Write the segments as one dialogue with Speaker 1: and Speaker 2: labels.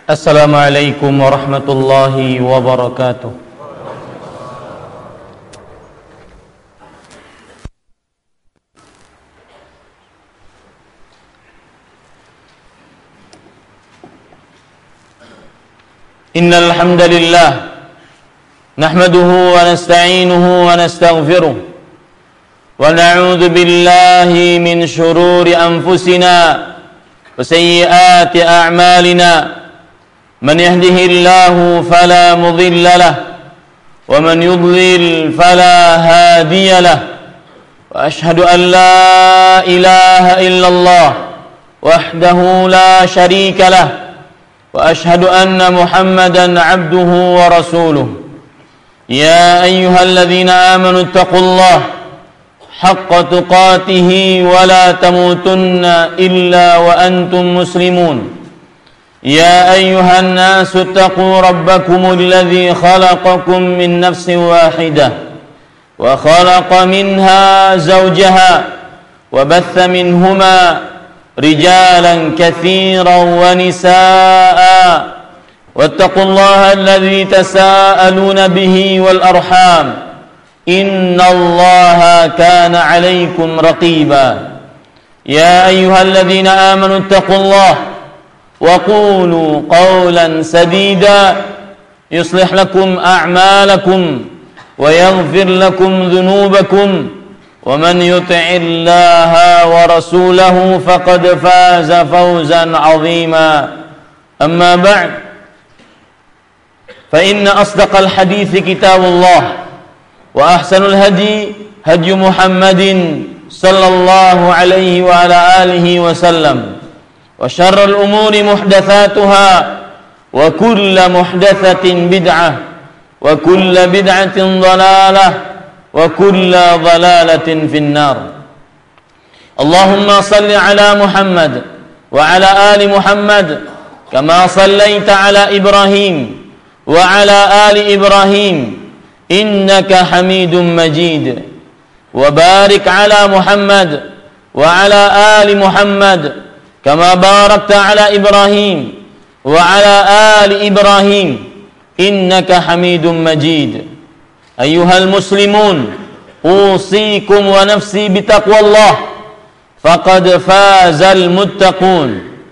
Speaker 1: Assalamualaikum warahmatullahi wabarakatuh. Innal hamdalillah nahmaduhu wa nasta'inuhu wa nastaghfiruh wa na'udzu billahi min shururi anfusina wa sayyiati a'malina. من يهده الله فلا مضل له ومن يضلل فلا هادي له وأشهد أن لا إله إلا الله وحده لا شريك له وأشهد أن محمدا عبده ورسوله يا أيها الذين آمنوا اتقوا الله حق تقاته ولا تموتن إلا وأنتم مسلمون يا أيها الناس اتقوا ربكم الذي خلقكم من نفس واحدة وخلق منها زوجها وبث منهما رجالا كثيرا ونساء واتقوا الله الذي تساءلون به والأرحام إن الله كان عليكم رقيبا يا أيها الذين آمنوا اتقوا الله وقولوا قولا سديدا يصلح لكم أعمالكم ويغفر لكم ذنوبكم ومن يطع الله ورسوله فقد فاز فوزا عظيما أما بعد فإن أصدق الحديث كتاب الله وأحسن الهدي هدي محمد صلى الله عليه وعلى آله وسلم وشر الأمور محدثاتها وكل محدثة بدعة وكل بدعة ضلالة وكل ضلالة في النار. اللهم صل على محمد وعلى آل محمد كما صليت على إبراهيم وعلى آل إبراهيم إنك حميد مجيد وبارك على محمد وعلى آل محمد كما باركت على إبراهيم وعلى آل إبراهيم إنك حميد مجيد. أيها المسلمون أوصيكم ونفسي بتقوى الله فقد فاز المتقون.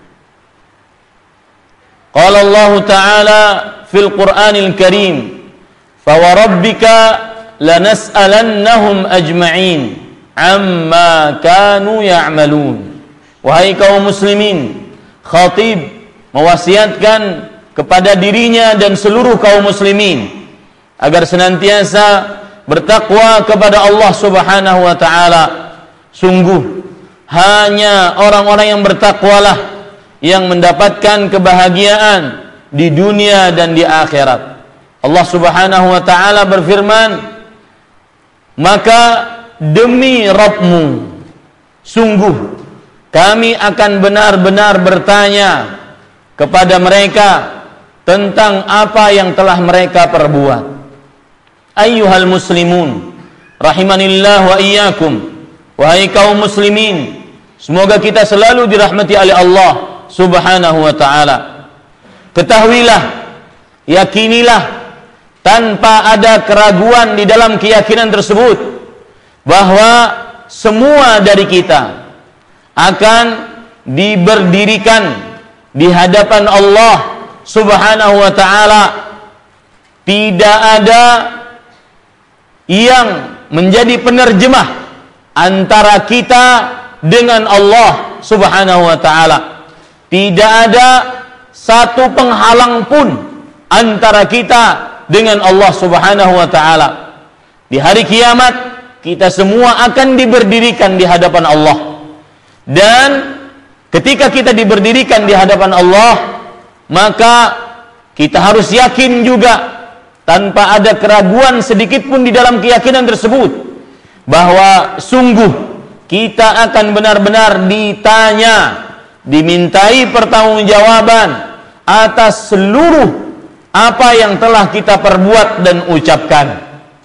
Speaker 1: قال الله تعالى في القرآن الكريم فوربك لنسألنهم أجمعين عما كانوا يعملون. Wahai kaum muslimin, khatib mewasiatkan kepada dirinya dan seluruh kaum muslimin agar senantiasa bertakwa kepada Allah Subhanahu wa taala. Sungguh hanya orang-orang yang bertakwalah yang mendapatkan kebahagiaan di dunia dan di akhirat. Allah Subhanahu wa taala berfirman, "Maka demi Rabbmu, sungguh kami akan benar-benar bertanya kepada mereka tentang apa yang telah mereka perbuat." Ayyuhal muslimun rahimanillah wa iyyakum. Wahai kaum muslimin, semoga kita selalu dirahmati oleh Allah Subhanahu wa taala. Ketahuilah, yakinilah tanpa ada keraguan di dalam keyakinan tersebut bahwa semua dari kita akan diberdirikan di hadapan Allah Subhanahu wa taala. Tidak ada yang menjadi penerjemah antara kita dengan Allah Subhanahu wa taala. Tidak ada satu penghalang pun antara kita dengan Allah Subhanahu wa taala. Di hari kiamat kita semua akan diberdirikan di hadapan Allah. Dan ketika kita diberdirikan di hadapan Allah, maka kita harus yakin juga tanpa ada keraguan sedikit pun di dalam keyakinan tersebut bahwa sungguh kita akan benar-benar ditanya, dimintai pertanggungjawaban atas seluruh apa yang telah kita perbuat dan ucapkan.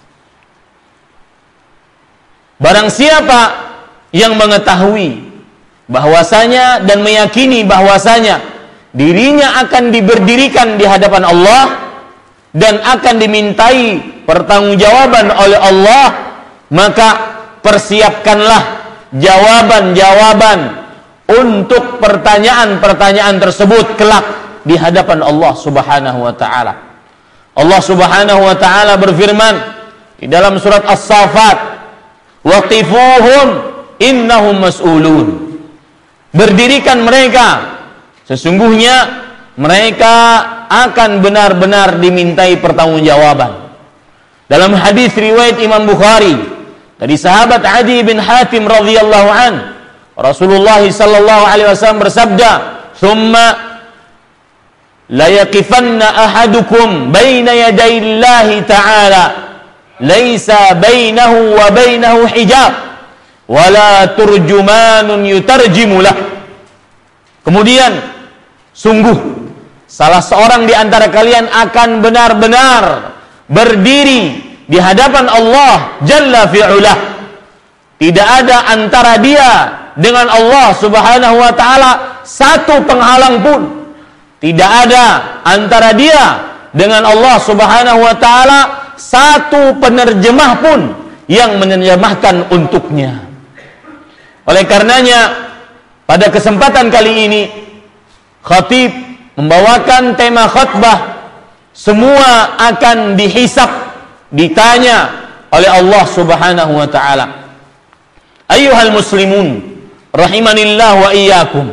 Speaker 1: Barang siapa yang mengetahui bahwasanya dan meyakini bahwasanya dirinya akan diberdirikan di hadapan Allah dan akan dimintai pertanggungjawaban oleh Allah, maka persiapkanlah jawaban-jawaban untuk pertanyaan-pertanyaan tersebut kelak di hadapan Allah Subhanahu wa taala. Allah Subhanahu wa taala berfirman di dalam surat As-Saffat, "Waqifuhum innahum mas'ulun." Berdirikan mereka, sesungguhnya mereka akan benar-benar dimintai pertanggungjawaban. Dalam hadis riwayat Imam Bukhari dari sahabat Adi bin Hatim radhiyallahu an, Rasulullah sallallahu alaihi wasallam bersabda, "Tsumma la yaqifanna ahadukum baina yadayillahi ta'ala laisa bainahu wa bainahu hijab wala turjumanun yutarjimu lah." Kemudian sungguh salah seorang di antara kalian akan benar-benar berdiri di hadapan Allah Jalla fi'ulah. Tidak ada antara dia dengan Allah Subhanahu wa taala satu penghalang pun. Tidak ada antara dia dengan Allah Subhanahu wa taala satu penerjemah pun yang menerjemahkan untuknya. Oleh karenanya, pada kesempatan kali ini khatib membawakan tema khutbah, semua akan dihisab, ditanya oleh Allah Subhanahu wa taala. Ayyuhal muslimun rahimanillah wa iyyakum.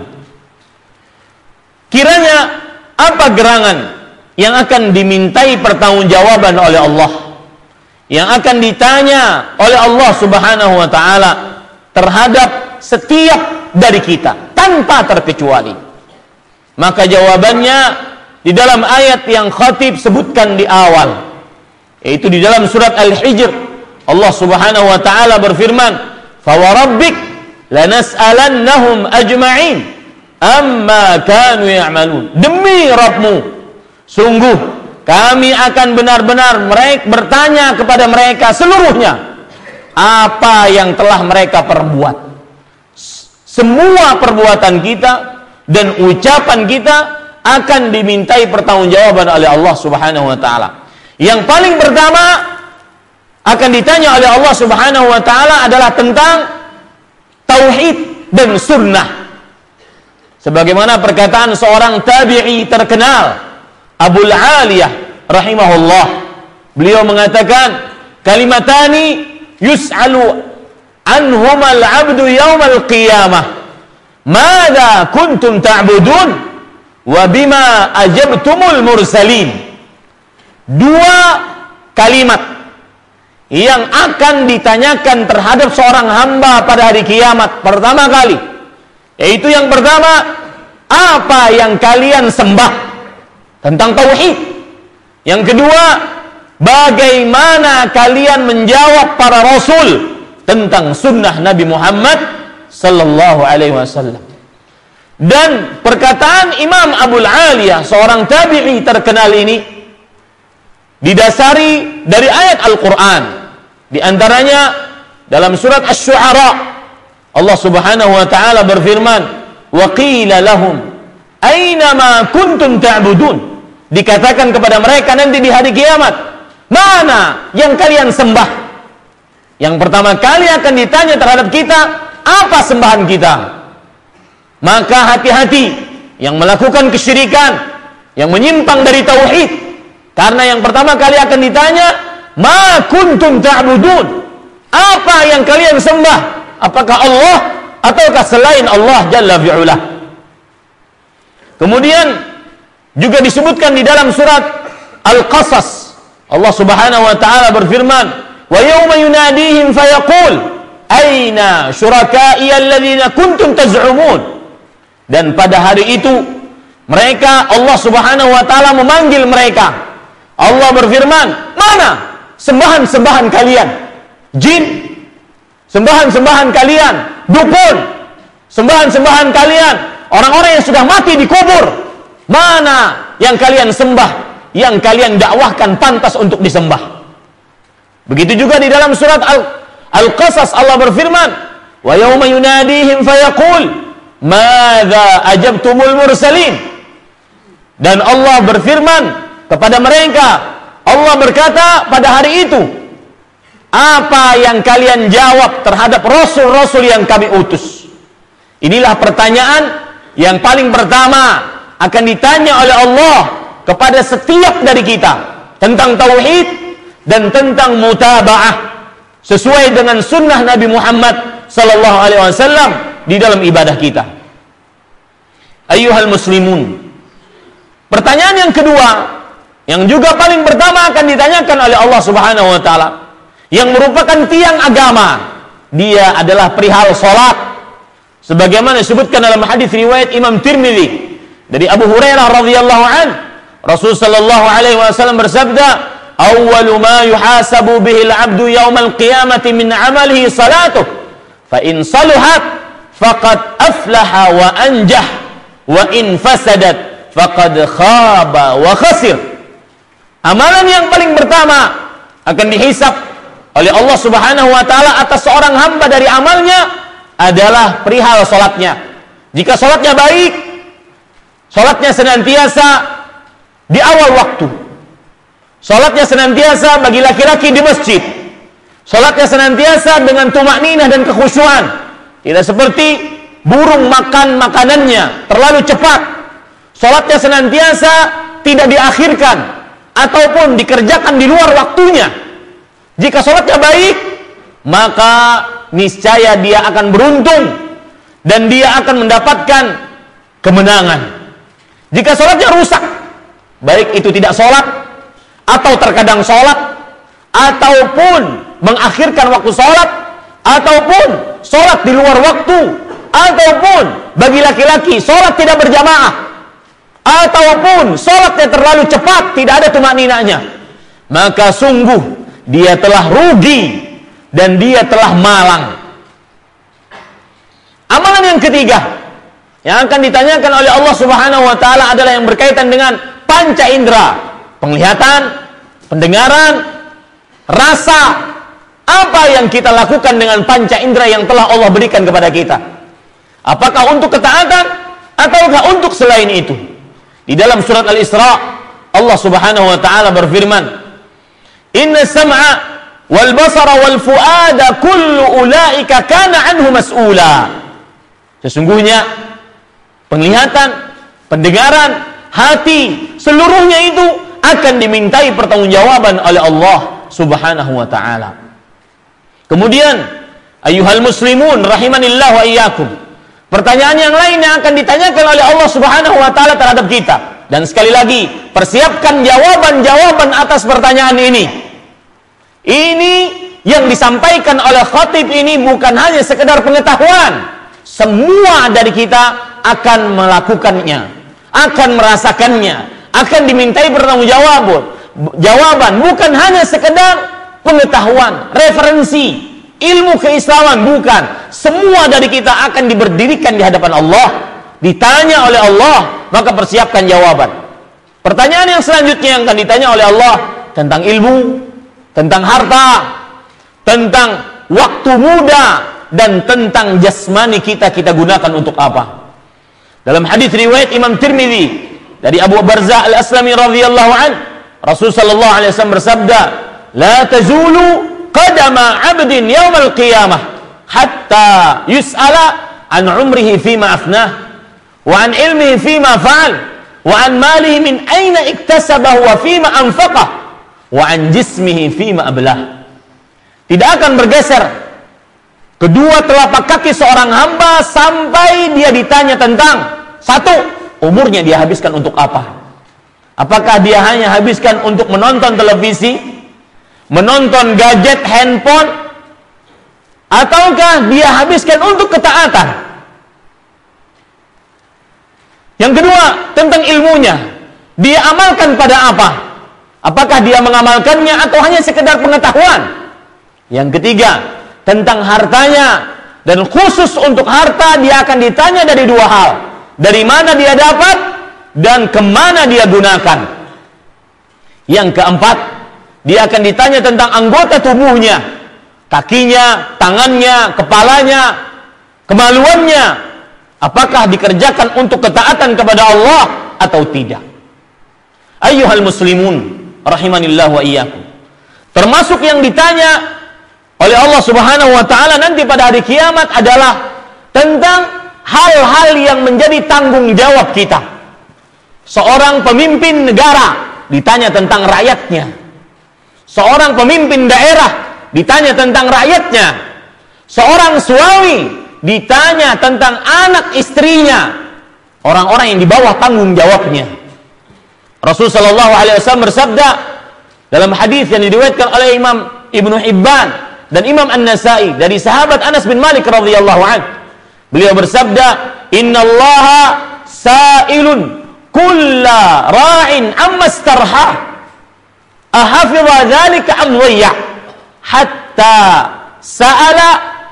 Speaker 1: Kiranya apa gerangan yang akan dimintai pertanggungjawaban oleh Allah, yang akan ditanya oleh Allah Subhanahu wa taala terhadap setiap dari kita tanpa terkecuali? Maka jawabannya di dalam ayat yang khatib sebutkan di awal, yaitu di dalam surat Al-Hijr. Allah Subhanahu wa taala berfirman, "Fa wa rabbik lanas'alannahum ajma'in amma kanu ya'malun." Demi Rabbmu, sungguh kami akan benar-benar bertanya kepada mereka seluruhnya apa yang telah mereka perbuat. Semua perbuatan kita dan ucapan kita akan dimintai pertanggungjawaban oleh Allah Subhanahu wa taala. Yang paling pertama akan ditanya oleh Allah Subhanahu wa taala adalah tentang tauhid dan sunnah. Sebagaimana perkataan seorang tabi'i terkenal, Abul Aliyah rahimahullah, beliau mengatakan, "Kalimatani yus'alu anhumal 'abdu yaumal qiyamah. Mada kuntum ta'budun wa bima ajabtumul mursalin." Dua kalimat yang akan ditanyakan terhadap seorang hamba pada hari kiamat pertama kali, yaitu yang pertama, apa yang kalian sembah, tentang tauhid. Yang kedua, bagaimana kalian menjawab para rasul tentang sunnah Nabi Muhammad sallallahu alaihi wasallam. Dan perkataan Imam Abul Aliyah, seorang tabi'i terkenal ini, didasari dari ayat Al-Quran. Di antaranya dalam surat Asy-Syu'ara, Allah Subhanahu wa taala berfirman, "Wa qila lahum aina ma kuntum ta'budun." Dikatakan kepada mereka nanti di hari kiamat, mana yang kalian sembah? Yang pertama kali akan ditanya terhadap kita, apa sembahan kita? Maka hati-hati yang melakukan kesyirikan, yang menyimpang dari tauhid, karena yang pertama kali akan ditanya, ma kuntum ta'budun, apa yang kalian sembah? Apakah Allah ataukah selain Allah Jalla fi'ulah? Kemudian juga disebutkan di dalam surat Al-Qasas, Allah Subhanahu wa taala berfirman, "Wa yawma yunadihim fayaqul aina syuraka'i alladziina kuntum taz'umun." Dan pada hari itu mereka, Allah Subhanahu wa taala memanggil mereka. Allah berfirman, "Mana sembahan-sembahan kalian? Jin, sembahan-sembahan kalian, dukun, sembahan-sembahan kalian, orang-orang yang sudah mati di kubur. Mana yang kalian sembah, yang kalian dakwahkan pantas untuk disembah?" Begitu juga di dalam surat Al-Qasas Allah berfirman, "Wa yawma yunadihim fayaqul madza ajabtumul mursalin." Dan Allah berfirman kepada mereka, Allah berkata pada hari itu, apa yang kalian jawab terhadap rasul-rasul yang kami utus? Inilah pertanyaan yang paling pertama akan ditanya oleh Allah kepada setiap dari kita tentang tauhid dan tentang mutaba'ah sesuai dengan sunnah Nabi Muhammad sallallahu alaihi wasallam di dalam ibadah kita. Ayyuhal muslimun. Pertanyaan yang kedua yang juga paling pertama akan ditanyakan oleh Allah Subhanahu wa taala yang merupakan tiang agama, dia adalah perihal salat. Sebagaimana disebutkan dalam hadis riwayat Imam Tirmidzi dari Abu Hurairah radhiyallahu an, Rasul sallallahu alaihi wasallam bersabda, "Awwalu ma yuhasabu bihi al-'abdu yawmal qiyamati min 'amalihi salatuh, fa in saluhat faqad aflaha wa anjah, wa in fasadat faqad khaba wa khasir." Amalan yang paling pertama akan dihisab oleh Allah Subhanahu wa taala atas seorang hamba dari amalnya adalah perihal salatnya. Jika salatnya baik, salatnya senantiasa di awal waktu, salatnya senantiasa bagi laki-laki di masjid, salatnya senantiasa dengan tumakninah dan kekhusyuan, tidak seperti burung makan makanannya terlalu cepat. Salatnya senantiasa tidak diakhirkan ataupun dikerjakan di luar waktunya. Jika salatnya baik, maka niscaya dia akan beruntung dan dia akan mendapatkan kemenangan. Jika salatnya rusak, baik itu tidak salat atau terkadang salat ataupun mengakhirkan waktu salat ataupun salat di luar waktu ataupun bagi laki-laki salat tidak berjamaah ataupun salatnya terlalu cepat, tidak ada tumakninahnya, maka sungguh dia telah rugi dan dia telah malang. Amalan yang ketiga yang akan ditanyakan oleh Allah Subhanahu wa taala adalah yang berkaitan dengan panca indera, penglihatan, pendengaran, rasa. Apa yang kita lakukan dengan panca indera yang telah Allah berikan kepada kita? Apakah untuk ketaatan ataukah untuk selain itu? Di dalam surat Al-Isra, Allah Subhanahu wa taala berfirman, "Inna sam'a wal basara wal fuada kullu ulaika kana anhu mas'ula." Sesungguhnya penglihatan, pendengaran, hati, seluruhnya itu akan dimintai pertanggungjawaban oleh Allah Subhanahu wa taala. Kemudian, ayyuhal muslimun rahimanillah wa iyyakum. Pertanyaan yang lain yang akan ditanyakan oleh Allah Subhanahu wa taala terhadap kita. Dan sekali lagi, persiapkan jawaban-jawaban atas pertanyaan ini. Ini yang disampaikan oleh khatib ini bukan hanya sekedar pengetahuan. Semua dari kita akan melakukannya, akan merasakannya, akan dimintai pertanggungjawaban, bukan hanya sekedar pengetahuan, referensi, ilmu keislaman, bukan. Semua dari kita akan diberdirikan di hadapan Allah, ditanya oleh Allah, maka persiapkan jawaban. Pertanyaan yang selanjutnya yang akan ditanya oleh Allah tentang ilmu, tentang harta, tentang waktu muda, dan tentang jasmani kita gunakan untuk apa. Dalam hadis riwayat Imam Tirmidzi dari Abu Barzah Al-Aslami radhiyallahu an, Rasul sallallahu alaihi wasallam bersabda, "La tazulu qadama 'abdin yaumal qiyamah hatta yus'ala an umrihi fima afnah wa an ilmihi fima fa'al wa an malihi min aina iktasabahu wa fima anfaqah wa an jismihi fima ablah." Tidak akan bergeser kedua telapak kaki seorang hamba sampai dia ditanya tentang satu, umurnya dia habiskan untuk apa? Apakah dia hanya habiskan untuk menonton televisi, menonton gadget handphone, ataukah dia habiskan untuk ketaatan? Yang kedua, tentang ilmunya, dia amalkan pada apa? Apakah dia mengamalkannya atau hanya sekedar pengetahuan? Yang ketiga, tentang hartanya, dan khusus untuk harta dia akan ditanya dari dua hal: dari mana dia dapat dan kemana dia gunakan. Yang keempat, dia akan ditanya tentang anggota tubuhnya, kakinya, tangannya, kepalanya, kemaluannya, apakah dikerjakan untuk ketaatan kepada Allah atau tidak. Ayyuhal muslimun rahimanillah wa iyyakum. Termasuk yang ditanya oleh Allah Subhanahu wa taala nanti pada hari kiamat adalah tentang hal-hal yang menjadi tanggung jawab kita. Seorang pemimpin negara ditanya tentang rakyatnya. Seorang pemimpin daerah ditanya tentang rakyatnya. Seorang suami ditanya tentang anak istrinya. Orang-orang yang di bawah tanggung jawabnya. Rasulullah sallallahu alaihi wasallam bersabda dalam hadis yang diriwayatkan oleh Imam Ibnu Hibban dan Imam An-Nasa'i dari sahabat Anas bin Malik radhiyallahu anhu. Beliau bersabda, "Innallaha sa'ilun kulla ra'in amma starha ahafidha dzalika am dhayya hatta sa'ala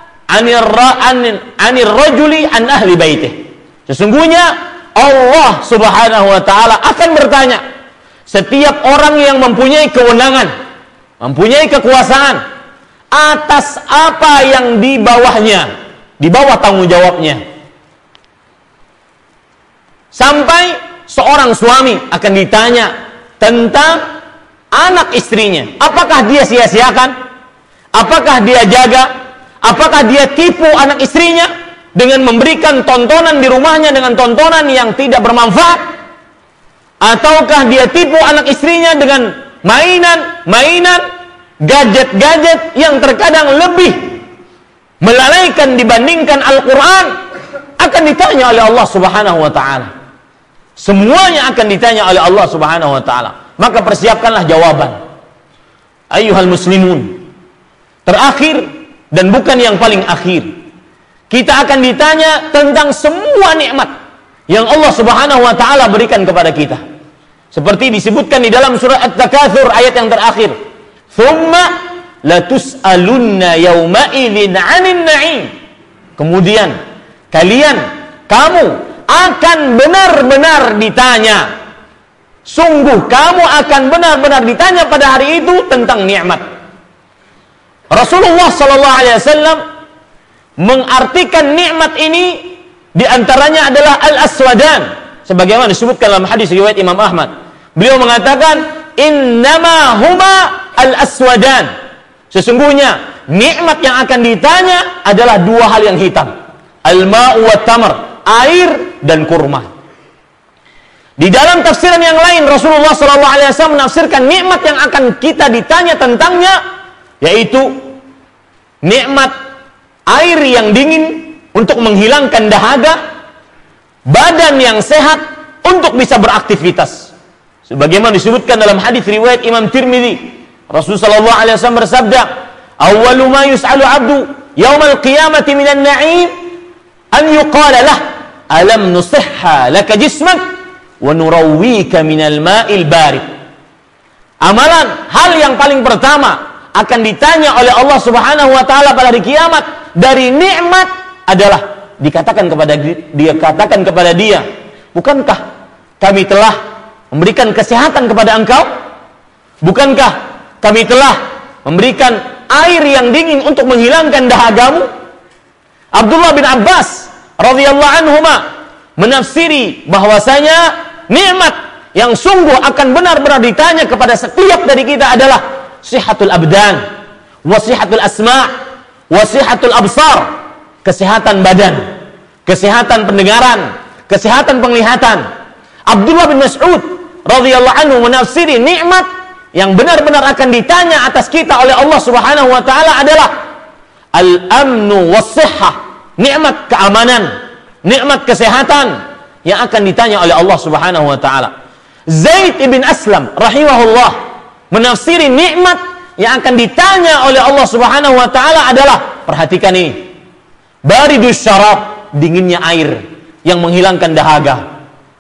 Speaker 1: 'anir rajuli an ahli baitih." Sesungguhnya Allah Subhanahu wa taala akan bertanya setiap orang yang mempunyai kewenangan, mempunyai kekuasaan atas apa yang di bawahnya, di bawah tanggung jawabnya. Sampai seorang suami akan ditanya tentang anak istrinya. Apakah dia sia-siakan? Apakah dia jaga? Apakah dia tipu anak istrinya dengan memberikan tontonan di rumahnya dengan tontonan yang tidak bermanfaat? Ataukah dia tipu anak istrinya dengan mainan, gadget-gadget yang terkadang lebih melalaikan dibandingkan Al-Quran? Akan ditanya oleh Allah Subhanahu wa ta'ala. Semuanya akan ditanya oleh Allah Subhanahu wa ta'ala. Maka persiapkanlah jawaban. Ayyuhal muslimun. Terakhir dan bukan yang paling akhir, kita akan ditanya tentang semua nikmat yang Allah Subhanahu wa taala berikan kepada kita. Seperti disebutkan di dalam surah At-Takatsur ayat yang terakhir. "Tsumma latus'alunna yauma idzin 'anil na'im." Kemudian kamu akan benar-benar ditanya. Sungguh kamu akan benar-benar ditanya pada hari itu tentang nikmat. Rasulullah sallallahu alaihi wasallam mengartikan nikmat ini diantaranya adalah al-aswadan, sebagaimana disebutkan dalam hadis riwayat Imam Ahmad. Beliau mengatakan, innama huma al-aswadan. Sesungguhnya nikmat yang akan ditanya adalah dua hal yang hitam, al-ma'u wa tamar, air dan kurma. Di dalam tafsiran yang lain Rasulullah SAW menafsirkan nikmat yang akan kita ditanya tentangnya, yaitu nikmat air yang dingin untuk menghilangkan dahaga, badan yang sehat untuk bisa beraktivitas. Sebagaimana disebutkan dalam hadis riwayat Imam Tirmidzi, Rasulullah SAW bersabda, "Awwalu ma yus'alu 'abdu yaumal qiyamati minan na'im an yuqala lah, alam nusihha laka jismak wa nurawwika minal ma'il barid." Amalan hal yang paling pertama akan ditanya oleh Allah Subhanahu wa taala pada hari kiamat dari nikmat adalah dikatakan kepada dia, bukankah kami telah memberikan kesehatan kepada engkau? Bukankah kami telah memberikan air yang dingin untuk menghilangkan dahagamu? Abdullah bin Abbas radhiyallahu anhuma menafsiri bahwasanya nikmat yang sungguh akan benar-benar ditanya kepada setiap dari kita adalah sihatul abdan, wasihatul asma', wasihatul absar, kesehatan badan, kesehatan pendengaran, kesehatan penglihatan. Abdullah bin Mas'ud radhiyallahu anhu menafsiri nikmat yang benar-benar akan ditanya atas kita oleh Allah Subhanahu wa taala adalah al-amnu was-sihhah, nikmat keamanan, nikmat kesehatan yang akan ditanya oleh Allah Subhanahu wa taala. Zaid ibn Aslam rahimahullah menafsiri nikmat yang akan ditanya oleh Allah Subhanahu wa taala adalah, perhatikan ini, baridus syarab, dinginnya air yang menghilangkan dahaga.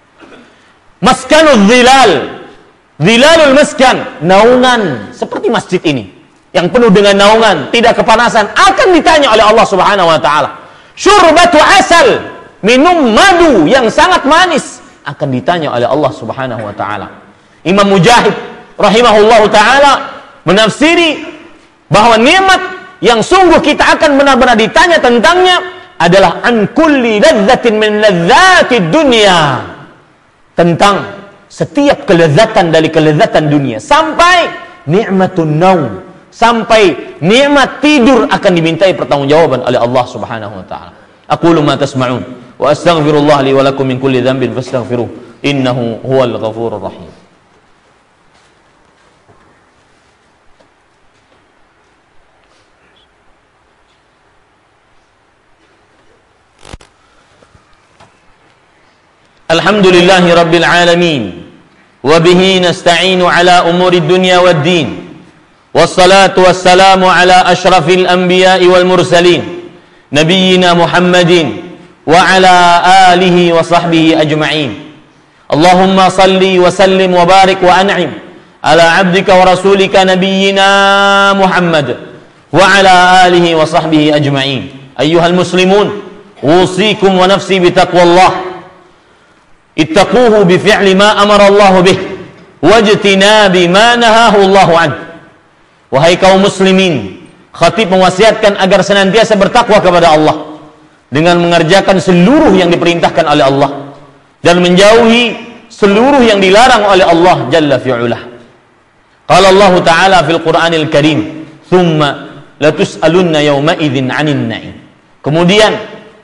Speaker 1: Maskanul zilal, zilalul maskan, naungan seperti masjid ini yang penuh dengan naungan, tidak kepanasan, akan ditanya oleh Allah Subhanahu wa taala. Syurbatu asal, minum madu yang sangat manis, akan ditanya oleh Allah Subhanahu wa taala. Imam Mujahid rahimahullahu ta'ala menafsiri bahwa nikmat yang sungguh kita akan benar-benar ditanya tentangnya adalah an kulli ladzatin min ladzatid dunya, tentang setiap kelezatan dari kelezatan dunia, sampai nikmatun naum, sampai nikmat tidur akan dimintai pertanggungjawaban oleh Allah Subhanahu wa taala. Aqulu ma tasma'un wa astaghfirullah li wa lakum min kulli dhanbin fastaghfiruh innahu huwal ghafurur rahim. Alhamdulillahi rabbil alamin wa bihi nasta'inu ala umuri dunya wad din wassalatu wassalamu ala ashrafil anbiya'i wal mursalin nabiyyina Muhammadin wa ala alihi wa sahbihi ajma'in. Allahumma salli wa sallim wa barik wa an'im ala abdika wa rasulika nabiyyina Muhammad wa ala alihi wa sahbihi ajma'in. Ayyuhal muslimun, usikum wa nafsi bitaqwallah. Ittaquhu bi fi'li ma amara Allah bih wajtinabi ma nahahu Allah an. Wahai kaum muslimin, khatib mewasiatkan agar senantiasa bertakwa kepada Allah dengan mengerjakan seluruh yang diperintahkan oleh Allah dan menjauhi seluruh yang dilarang oleh Allah jalla fi'ulah. Qala Allah Ta'ala fil Qur'anil Karim, "Tsumma latus'alunna yawma idzin 'anil na'im." Kemudian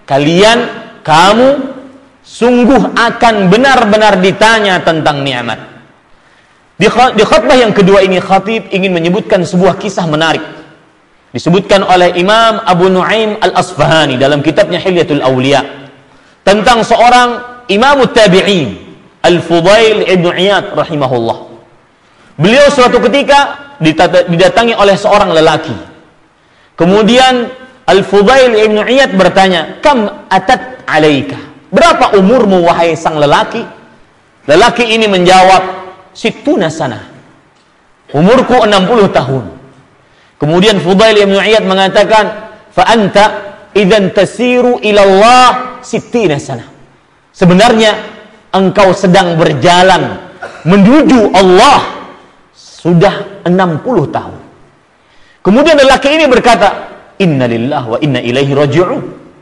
Speaker 1: kamu sungguh akan benar-benar ditanya tentang nikmat. Di khutbah yang kedua ini, khatib ingin menyebutkan sebuah kisah menarik. Disebutkan oleh Imam Abu Nu'aim Al-Asfahani dalam kitabnya Hilyatul Awliya tentang seorang Imam Tabi'in, Al-Fudail Ibn Iyad rahimahullah. Beliau suatu ketika didatangi oleh seorang lelaki. Kemudian Al-Fudail Ibn Iyad bertanya, "Kam atat alaika?" Berapa umurmu wahai sang lelaki? Lelaki ini menjawab, "Sittuna sanah." Umurku 60 tahun. Kemudian Fudail bin Iyad mengatakan, "Fa anta idzan tasiru ila Allah sittina sanah." Sebenarnya engkau sedang berjalan menuju Allah sudah 60 tahun. Kemudian lelaki ini berkata, "Inna lillahi wa inna ilaihi raji'un."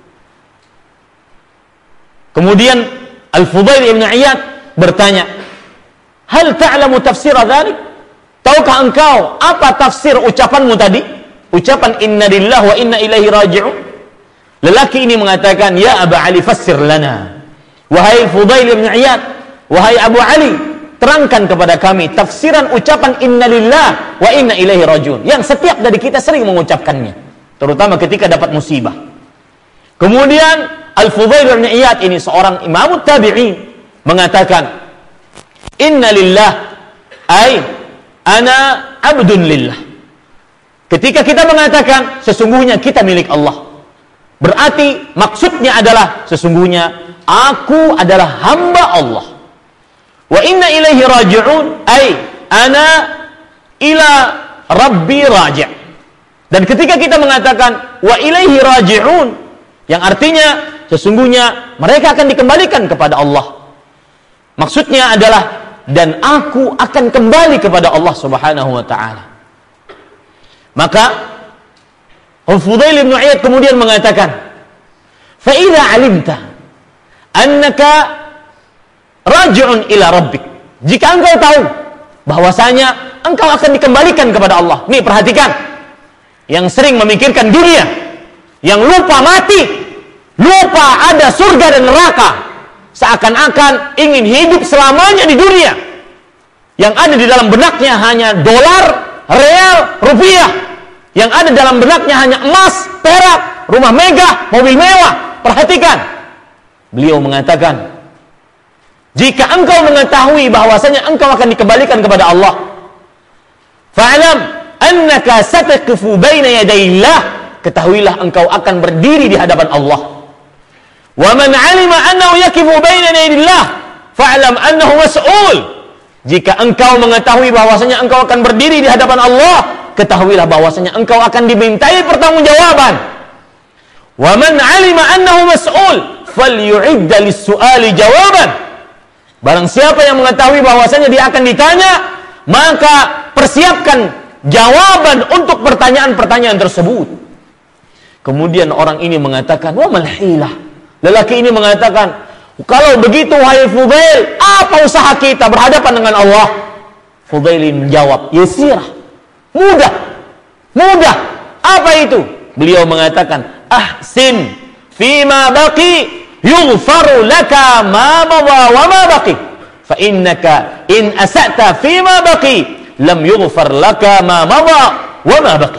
Speaker 1: Kemudian Al-Fudail ibn Iyad bertanya, "Hal ta'lamu tafsira dzalik?" Tahukah engkau apa tafsir ucapanmu tadi? Ucapan inna lillahi wa inna ilaihi raji'un. Lelaki ini mengatakan, "Ya Abu Ali, fassir lana." Wahai Fudail ibn Iyad, wahai Abu Ali, terangkan kepada kami tafsiran ucapan inna lillahi wa inna ilaihi raji'un yang setiap dari kita sering mengucapkannya, terutama ketika dapat musibah. Kemudian Al-Fudail bin Iyad ini seorang imam tabi'in mengatakan, "Inna lillah ay ana abdun lillah." Ketika kita mengatakan sesungguhnya kita milik Allah, berarti maksudnya adalah sesungguhnya aku adalah hamba Allah. Wa inna ilaihi raji'un ay ana ila rabbi raji'. Dan ketika kita mengatakan wa ilaihi raji'un, yang artinya sesungguhnya mereka akan dikembalikan kepada Allah, maksudnya adalah dan aku akan kembali kepada Allah Subhanahu wa taala. Maka Al-Fudail bin Iyad kemudian mengatakan, "Fa idza 'alimta annaka raji'un ila rabbik." Jika engkau tahu bahwasanya engkau akan dikembalikan kepada Allah. Nih perhatikan, yang sering memikirkan dunia, yang lupa mati, lupa ada surga dan neraka, seakan-akan ingin hidup selamanya di dunia. Yang ada di dalam benaknya hanya dolar, real, rupiah. Yang ada dalam benaknya hanya emas, perak, rumah megah, mobil mewah. Perhatikan, beliau mengatakan, jika engkau mengetahui bahwasanya engkau akan dikembalikan kepada Allah, fa'lam annaka sataqifu baina yadayillah, ketahuilah engkau akan berdiri di hadapan Allah. Wa man 'alima annahu yaqifu baina yadayillah, fa'lam annahu mas'ul. Jika engkau mengetahui bahwasanya engkau akan berdiri di hadapan Allah, ketahuilah bahwasanya engkau akan dimintai pertanggungjawaban. Wa man 'alima annahu mas'ul, falyu'idda lis-su'ali jawaban. Barang siapa yang mengetahui bahwasanya dia akan ditanya, maka persiapkan jawaban untuk pertanyaan-pertanyaan tersebut. Kemudian orang ini mengatakan, "Wa mal hilah." Lelaki ini mengatakan, Kalau begitu wahai Fudail, apa usaha kita berhadapan dengan Allah? Fudail menjawab, yasirah, mudah. Mudah. Apa itu? Beliau mengatakan, ahsin fima baqi yughfaru laka ma madha wa ma baqi. Fa innaka in asa'ta fima baqi lam yughfar laka ma madha wa ma baqi.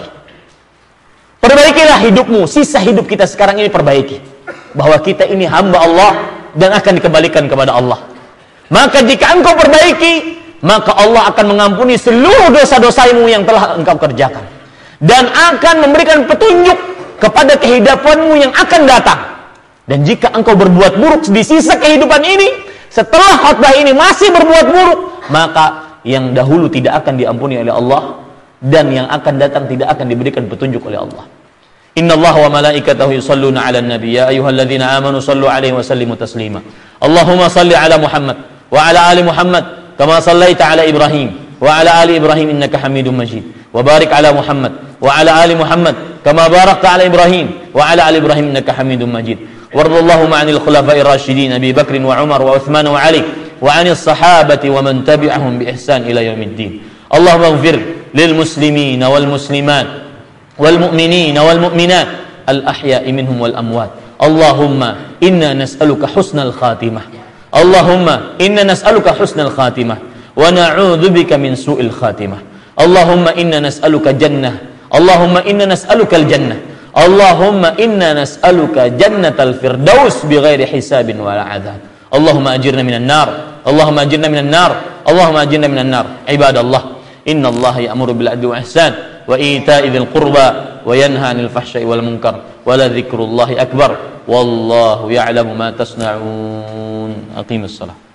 Speaker 1: Perbaikilah hidupmu, sisa hidup kita sekarang ini perbaiki. Bahwa kita ini hamba Allah dan akan dikembalikan kepada Allah. Maka jika engkau perbaiki, maka Allah akan mengampuni seluruh dosa-dosamu yang telah engkau kerjakan. Dan akan memberikan petunjuk kepada kehidupanmu yang akan datang. Dan jika engkau berbuat buruk di sisa kehidupan ini, setelah khutbah ini masih berbuat buruk, maka yang dahulu tidak akan diampuni oleh Allah, dan yang akan datang tidak akan diberikan petunjuk oleh Allah. Innallaha wa malaikatahu yusalluna 'alan nabi ya ayyuhalladzina amanu sallu 'alaihi wa sallimu taslima. Allahumma salli 'ala Muhammad wa 'ala ali Muhammad kama sallaita 'ala Ibrahim wa 'ala ali Ibrahim innaka Hamidum Majid. Wa barik 'ala Muhammad wa 'ala ali Muhammad kama barakta 'ala Ibrahim wa 'ala ali Ibrahim innaka Hamidum Majid. Wardallahumma 'anil khulafa'ir rasyidin Abi Bakr wa Umar wa Utsman wa Ali wa 'anis sahabati wa man tabi'ahum bi ihsan ila yaumiddin. Allahumma ighfir lil muslimin wal muslimat والمؤمنين والمؤمنات الأحياء منهم والأموات. اللهم إنا نسألك حسن الخاتمة. اللهم إنا نسألك حسن الخاتمة ونعوذ بك من سوء الخاتمة. اللهم إنا نسألك جنة. اللهم إنا نسألك الجنة. اللهم إنا نسألك جنة الفردوس بغير حساب ولا عذاب. اللهم أجرنا من النار. اللهم أجرنا من النار. اللهم أجرنا من النار. عباد الله إن الله يأمر بالعدل والإحسان وإيتاء ذي القربى وينهى عن الفحشاء والمنكر ولذكر الله أكبر والله يعلم ما تصنعون. أقيم الصلاة.